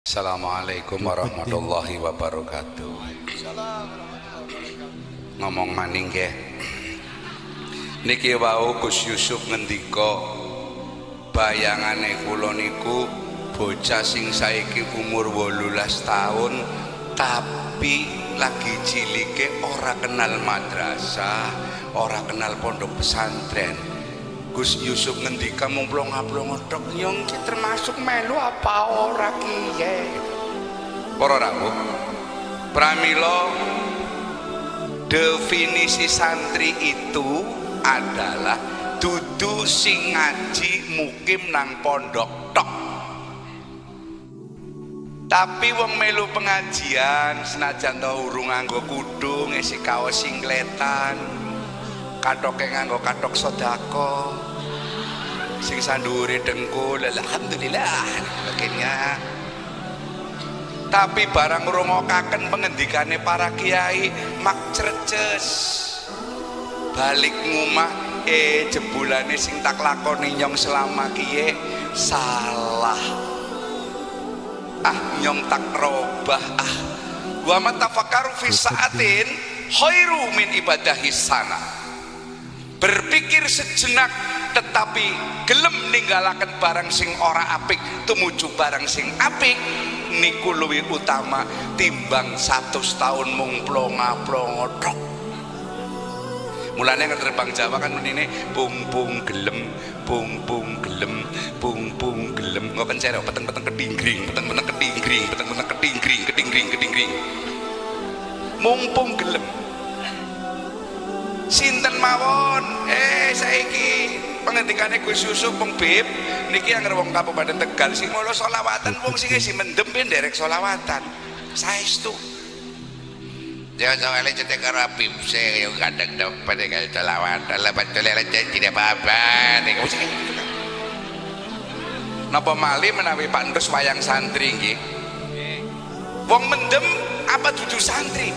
Assalamualaikum warahmatullahi wabarakatuh. Ngomong maning nggih. Niki wau Gus Yusuf ngendika bayangane kula niku bocah sing saiki umur 18 tahun tapi lagi cilike ora kenal madrasah, ora kenal pondok pesantren. Gus Yusuf ngendika mung plonga-plonga tok nyong ki termasuk melu apa ora kiye. Para rawuh, pramila definisi santri itu adalah dudu sing ngaji mukim nang pondok tok. Tapi wong melu pengajian senajan to urung nganggo kudu ngisi kaos singletan, katoke nganggo katok sodako, sing sandure dengkul, alhamdulillah akhirnya. Tapi barang ngrungokaken pengendikane para kiai mak cerces balik ngumah jebulane sing tak lakoni nyong selama kiye salah, nyong tak robah, wa matafakaru fi sa'atin khairu min ibadahi sana. Berpikir sejenak tetapi gelem ninggalaken barang sing ora apik tumuju barang sing apik niku luwih utama timbang 100 tahun mung plonga-plonga tok. Mulane ngeterbang Jawa kan menine pung gelem, pung gelem, pung gelem. Ngoken cero peteng-peteng kedinggring, peteng-peteng kedinggring, peteng-peteng kedinggring, kedinggring. Mumpung gelem. Sinten mawon saiki pengendikane Gus Yusuf wong Bib niki anggere wong Kabupaten Tegal sing mulo selawatan wong sing isi mendem nderek selawatan saestu ya soalnya cetek karo Bib se yo kadang dapat kali selawatan lah betul tidak apa-apa niku sing napa mali menawi Pak Ndus wayang santri nggih wong mendem apa dudu santri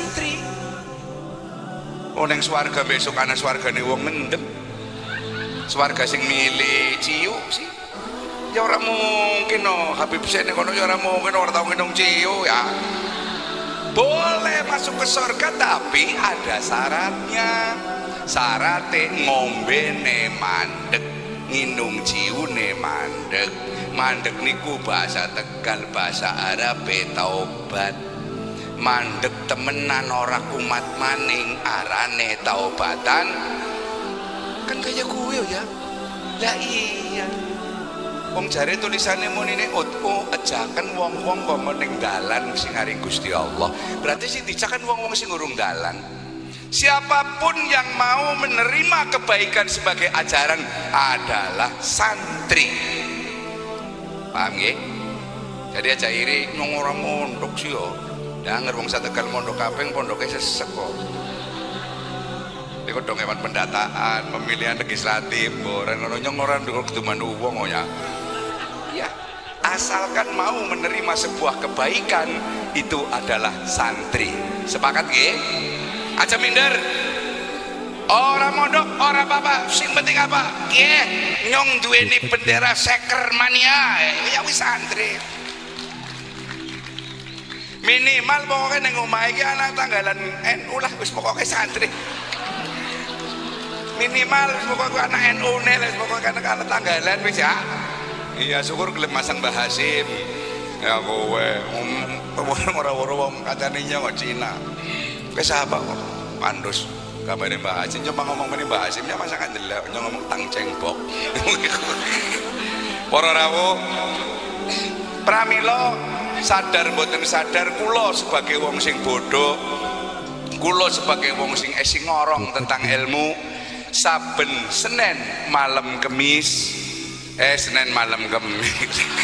neng swarga besok ana swargane wong mendem, swarga sing milih ciu sih ya ora mungkin Habib Sene kono ya ora mungkin ora tau nginum ciu ya. Boleh masuk ke surga tapi ada syaratnya. Syaratnya ngombe ne mandek, nginum ciu ne mandek. Mandek niku bahasa Tegal, bahasa Arab taubat. Mandek temenan ora kumat maning arane taubatan kan kaya kuwi ya. Lah iya wong jare tulisane munine ajaken wong-wong kok ning dalan sing aring Gusti Allah berarti sing dicakan wong-wong sing urung dalan. Siapapun yang mau menerima kebaikan sebagai ajaran adalah santri, paham nggih? Jadi aja iri nyong ora mondok sih yo. Danger wong Tegal mondok kaping pondoke sesek kok. Iku dong hewan pendataan, pemilihan legislatif, boren ngono nyong ora kudu mandu wong ya. Ya, asalkan mau menerima sebuah kebaikan itu adalah santri. Sepakat nggih? Aja minder. Ora mondok, ora apa-apa, sing penting apa? Nggih, nyong duweni bendera seker mania, ya wis santri. Minimal pokoknya neng omah iki anak tanggalan NU lah wis pokoknya santri. Minimal wis pokoknya anak NU ne wis pokoknya anak tanggalan wis ya. Iya syukur gelem masang Mbah Hasim. Ya kowe ora-ora wong kancane nyong Cina. Wis apa kok Pandus gambare Mbah Hasim coba ngomong meneh Mbah Hasim ya masakan ndelok nyong ngomong tang cengbok. Para rawuh pramila sadar mboten sadar kula sebagai wong sing bodoh, kula sebagai wong sing ngorong tentang ilmu saben Senin malam Kemis Senin malam Kemis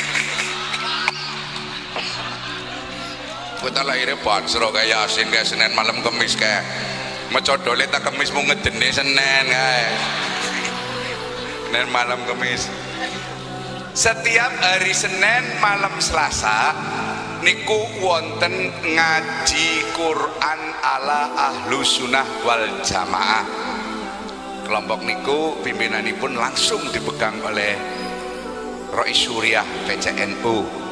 kita lahirnya bansro kayak Yasin kayak Senin malam Kemis kayak mecodole tak Kemis mau ngedene Senin kayak Senin malam Kemis. Setiap hari Senin malam Selasa niku wonten ngaji Quran ala ahlu sunnah wal jamaah. Kelompok niku pimpinanipun langsung dipegang oleh Rois Suriah PCNU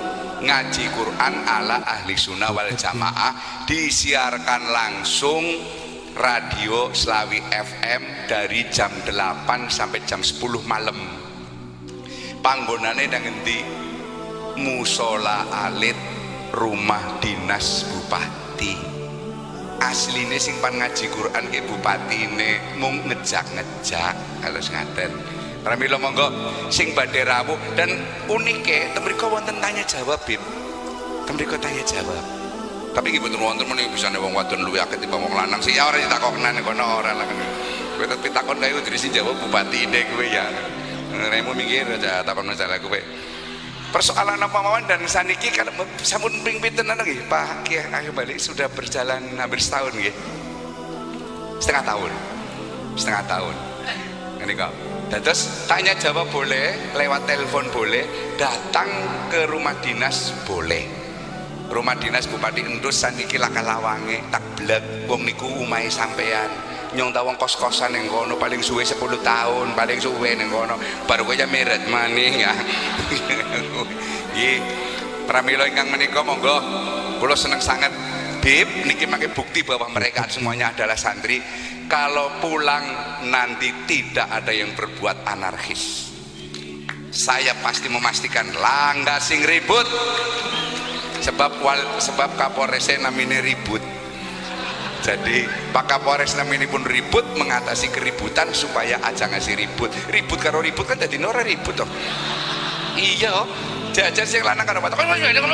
ngaji Quran ala ahli sunnah wal jamaah, disiarkan langsung radio Slawi FM dari jam 8 sampai jam 10 malam. Panggonane nang endi? Musola alit rumah dinas bupati. Asline sing pan ngaji Quran ke bupatine mung ngejak-ngejak halus ngaten. Pramila monggo sing badhe rawuh dan unike temriko wonten tanya jawab, Bib. Temriko tanya jawab. Tapi nggih mboten wonten menika bisane wong wadon luwih akeh timbang wong lanang. Sing ya ora ditakonan kono ora lah. Kowe tetep takon kae kudu sing jawab bupatine kowe ya. Remu minggir aja takon masalah kowe. Persoalan apa mawon dan saniki kan sampun ping pinten nggih Pak Kiai ayo balik sudah berjalan hampir setahun nggih. Setengah tahun. Ngene kok. Terus tanya jawab boleh, lewat telepon boleh, datang ke rumah dinas boleh. Rumah dinas Bupati Endus saniki lakalawange tak blek wong niku omahe sampean. Nyong ta wong kos-kosan ning kono paling suwe 10 tahun, paling suwe ning kono. Baru kowe ya meret maning ya. Nggih. Pramila ingkang menika monggo kula seneng sangat Bib niki makai bukti bahwa mereka semuanya adalah santri. Kalau pulang nanti tidak ada yang berbuat anarkis. Saya pasti memastikan langga sing ribut. Sebab Kapolres namine ribut. Jadi Pak Kapolres namine pun ribut mengatasi keributan supaya aja ngasih ribut. Ribut karo ribut kan jadi ora ribut toh. Iya. Jajar sing lanang karo batok.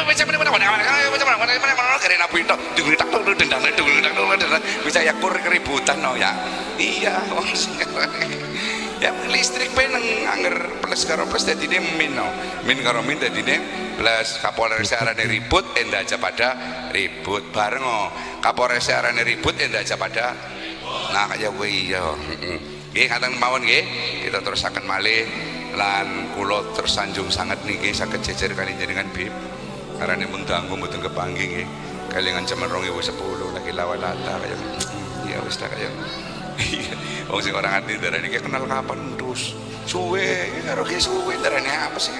Bisa ya kur keributan no ya. Iya, wong sing ya listrik pe nang anger plus karo plus dadine min no. Min karo min dadine plus. Kapolres arane ribut endah aja pada ribut bareng oh. Kapolres arane ribut endah aja pada nah kaya kowe iya. Nggih ngaten mawon nggih. Kita terusaken malih lan kula tersanjung sangat niki saged jejer kali jenengan Bib. Karane mun dangu mboten kepanggih nggih. Kalingan jaman 2010 lagi lawalata kaya ya wis ta kaya. Wong sing orang ati darane iki kenal kapan terus suwe karo ki suwe darane apa sih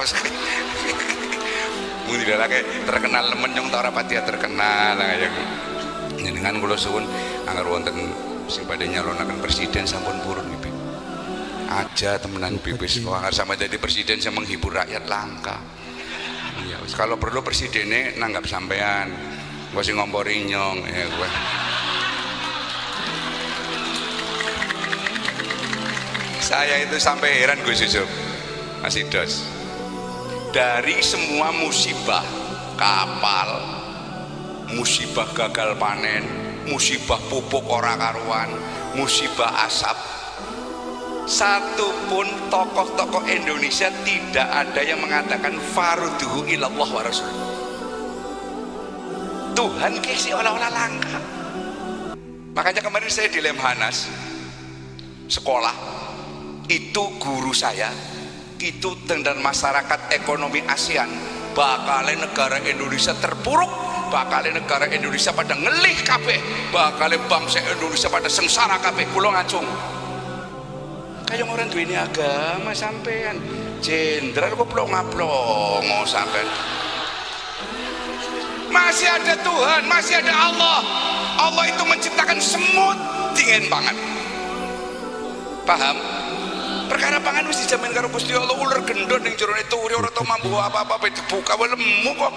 mun dilake terkenal nemen nyong ta ora pati terkenal kaya jenengan kula suwun anger wonten sing badhe nyalonaken presiden sampun purun nggih Bib. Aja temenan bibis kok sama jadi presiden yang menghibur rakyat langka. Ya kalau perlu presidennya nanggap sampean gue sih ngompori nyong ya gue. Saya itu sampai heran gue Yusuf Mas Idos, dari semua musibah kapal, musibah gagal panen, musibah pupuk ora karuan, musibah asap, satupun tokoh-tokoh Indonesia tidak ada yang mengatakan farduhu ilallah wa rasul. Tuhan kisi olah-olah langka. Makanya kemarin saya di Lemhanas sekolah itu guru saya itu tentang masyarakat ekonomi ASEAN bakalnya negara Indonesia terpuruk, bakalnya negara Indonesia pada ngelih kabeh, bakalnya bangsa Indonesia pada sengsara kabeh. Kula ngacung kayak orang duwe ini agama sampean jenderal kok plong-plong sampean. Masih ada Tuhan, masih ada Allah. Allah itu menciptakan semut dingin banget. Paham? Perkara pangan mesti dijamin karo Gusti Allah. Ular gendon ning jero turi ora tau mambu apa-apa dibuka wae lemu kok.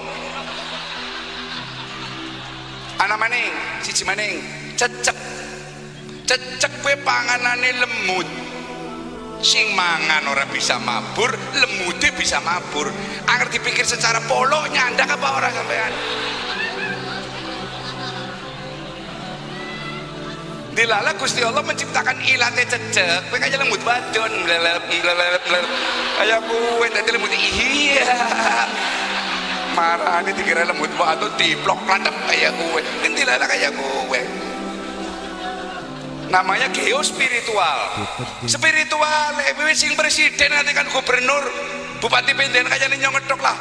Ana maning, siji maning, cecek. Cecek kowe panganane lemut. Sing mangan ora bisa mabur, lemute bisa mabur. Anger dipikir secara polo nyandak apa ora sampean? Dilala Gusti Allah menciptakan ilate cecek, kowe kaya lemut wadon, kaya kowe dadi lemut iya. Marane dikira lemut wadon diplok landep kaya kowe. Dilala kaya kowe. Namanya geospiritual. Spiritual, sing presiden nanti kan gubernur, bupati penden kaya nyong ngedok lah.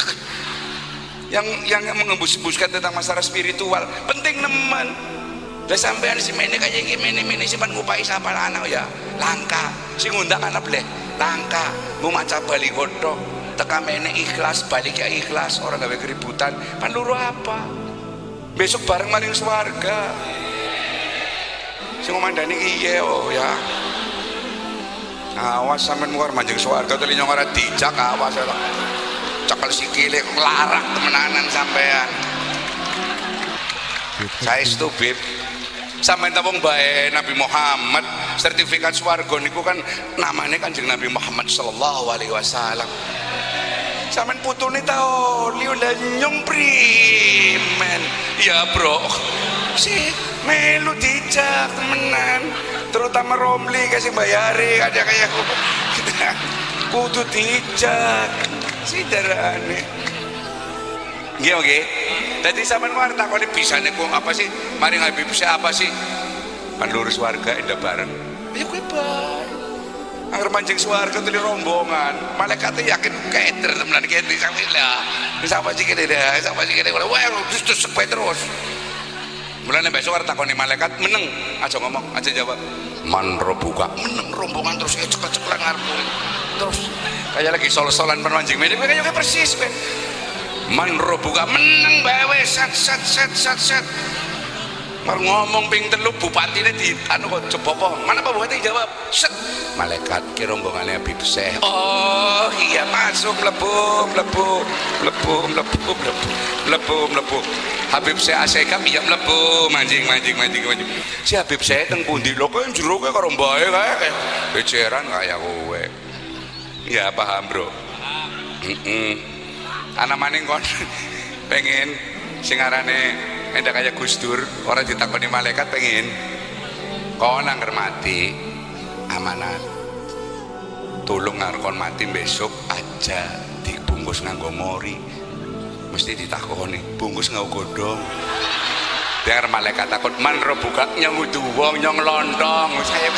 Yang mengembus-embuskan tentang masalah spiritual penting nemen. Lah sampean si mene kaya iki mene simpan ngupai sapa anak ya langka. Sing ngundang anak bleh langka. Mau maca bali kodhok teka mene ikhlas, balik ya ikhlas, orang gawe keributan, pan luru apa? Besok bareng maring swarga. Sing ngomandani iye oh ya. Awas sampean muar manjing swarga teli nyong ora dijak awas ya. Cekel sikile larak temenanan sampean. Saestu Bib. Sampeyan ta wong bae Nabi Muhammad, sertifikat swarga niku kan namanya Kanjeng Nabi Muhammad sallallahu alaihi wasallam. Sampeyan putune ta oli ulah nyong primen. Ya bro. Si melu dijak temenan, terutama Romli kasih bayari aja kayak kudu dijak. Siderane. Nggih oke. Dadi sampean war takone bisane kok apa sih? Mari Habib saya apa sih? Pan lurus warga endah bareng. Ya kowe bae. Angger mancing swarga teli rombongan. Malaikate yakin keder temenan kene sampe lah. Sapa sih kene dah, sapa sih kene. Wah, terus sepe terus. Mulane besok arep takoni malaikat meneng, aja ngomong, aja jawab. Man robuka meneng rombongan terus cekek-cekek ngarep. Terus kayak lagi sol-solan penwanjing mene kayak persis kowe. Man robuka meneng bae set. Mar ngomong ping telu bupatine di anu kok jebopo. Mana Pak Bupati jawab? Set. Malaikat ki rombongane Habib Syekh. Oh, iya masuk mlebu. Habib Syekh asekam iya mlebu mancing. Si Habib Syekh teng pundi lho kok jero kowe karo mbae kae. Beceran kaya kowe. Ya paham, Bro. Ana maning kon pengen sing arane endak kaya Gus Dur, orang ditakoni malaikat pengen kon angger mati amanat. Tolong ngarkon mati besok aja dibungkus nganggo mori. Mesti ditakoni, bungkus nganggo godhong. Dengar malaikat takut man robuka nyang udu wong nyong lontong. Saya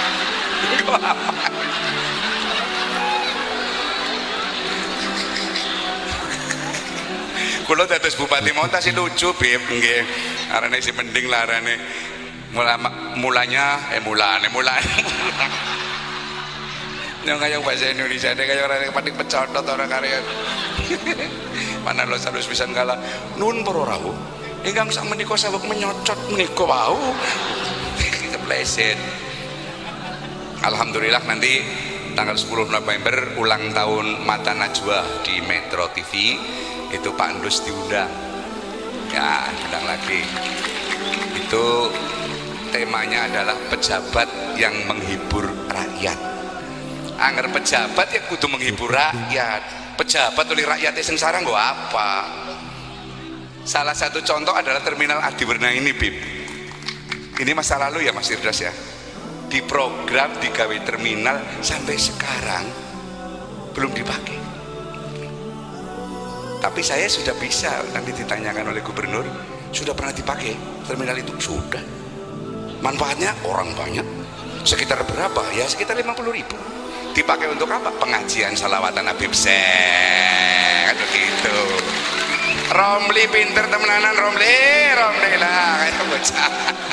Kulo dados Bupati Montas sih lucu Bib nggih. Arane si mending larane mulanya yang kayak bahasa Indonesia deh kayak orang yang paling pecotot orang karya. Mana lo harus bisa kalah nun pororahu ingkang sak menika sabuk menyocot menika wau kepleset. Alhamdulillah nanti tanggal 10 November ulang tahun Mata Najwa di Metro TV itu Pak Andus diundang ya, undang lagi. Itu temanya adalah pejabat yang menghibur rakyat. Angger pejabat ya kudu menghibur rakyat. Pejabat oleh rakyatnya sengsara nggak apa. Salah satu contoh adalah Terminal Adiwerna ini Bib. Ini masa lalu ya Mas Irdas ya. Di program digawe terminal sampai sekarang belum dipakai. Tapi saya sudah bisa, nanti ditanyakan oleh gubernur, sudah pernah dipakai terminal itu? Sudah. Manfaatnya orang banyak. Sekitar berapa? Ya sekitar 50.000. Dipakai untuk apa? Pengajian salawatan Habib Syekh begitu. Romli pinter temenanan Romli lah kayak bocah.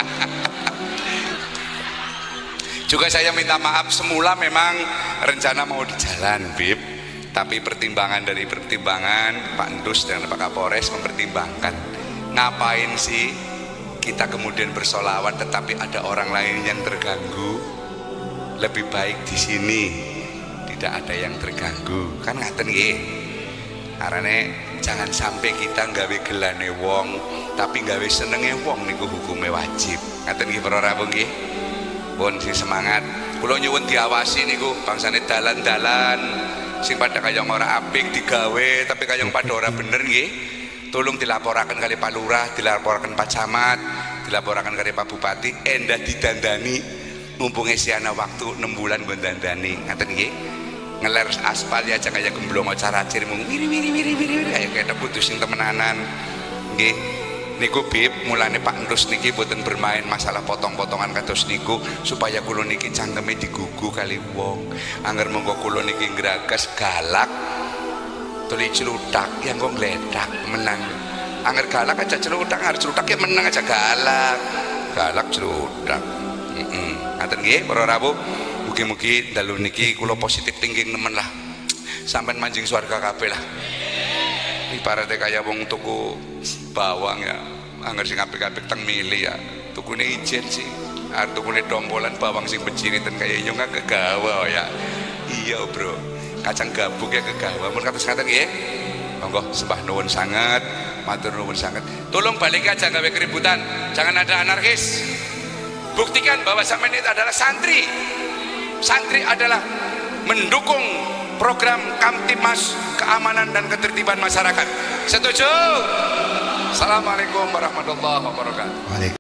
Juga saya minta maaf, semula memang rencana mau di jalan Bib, tapi pertimbangan Pak Ndus dan Pak Kapolres mempertimbangkan ngapain sih kita kemudian bersolawat tetapi ada orang lain yang terganggu. Lebih baik di sini tidak ada yang terganggu kan ngaten nggih. Arane jangan sampai kita nggawe gelane wong tapi nggawe senenge wong niku hukume wajib. Ngaten nggih para rawuh nggih. Pun sing semangat. Kula nyuwun diawasi niku bangsane dalan-dalan sing pada kayong ora apik digawe tapi kayong pada ora bener nggih. Tolong dilaporaken kali Pak Lurah, dilaporaken Pak Camat, dilaporaken kali Pak Bupati, endah didandani mumpung esiana waktu 6 bulan nggon dandani. Ngaten nggih. Ngeler aspal ya aja kayak gemblong caracir mung wiri kayak kena putus sing temenanan. Nggih. Niku Bib, mulane Pak Ndus niki boten bermain masalah potong-potongan kados niku supaya kula niki cangkeme digugu kali wong. Angger monggo kula niki ngragas galak tuli celutak yang kok ngledak menang. Angger galak aja celutak, arep celutak ya menang aja galak. Galak celutak. Ngaten nggih para rawuh. Mugi-mugi dalu niki kula positif thinking nemen lah. sampean manjing swarga kabeh lah. Ibaratnya kayak wong tuku bawang ya, angger sing apik-apik teng mili ya, tukune ijen sih. Arep tukune dompolan bawang sing beciritan kaya yo nggak kegawa ya. Iya bro, kacang gabuk ya kegawa. Mun kados ngaten nggih. Monggo sembah nuwun sangat, matur nuwun sangat. Tolong balik aja gawe keributan, jangan ada anarkis. Buktikan bahwa sampean itu adalah santri. Santri adalah mendukung program Kamtibmas keamanan dan ketertiban masyarakat. Setuju? Assalamualaikum warahmatullahi wabarakatuh.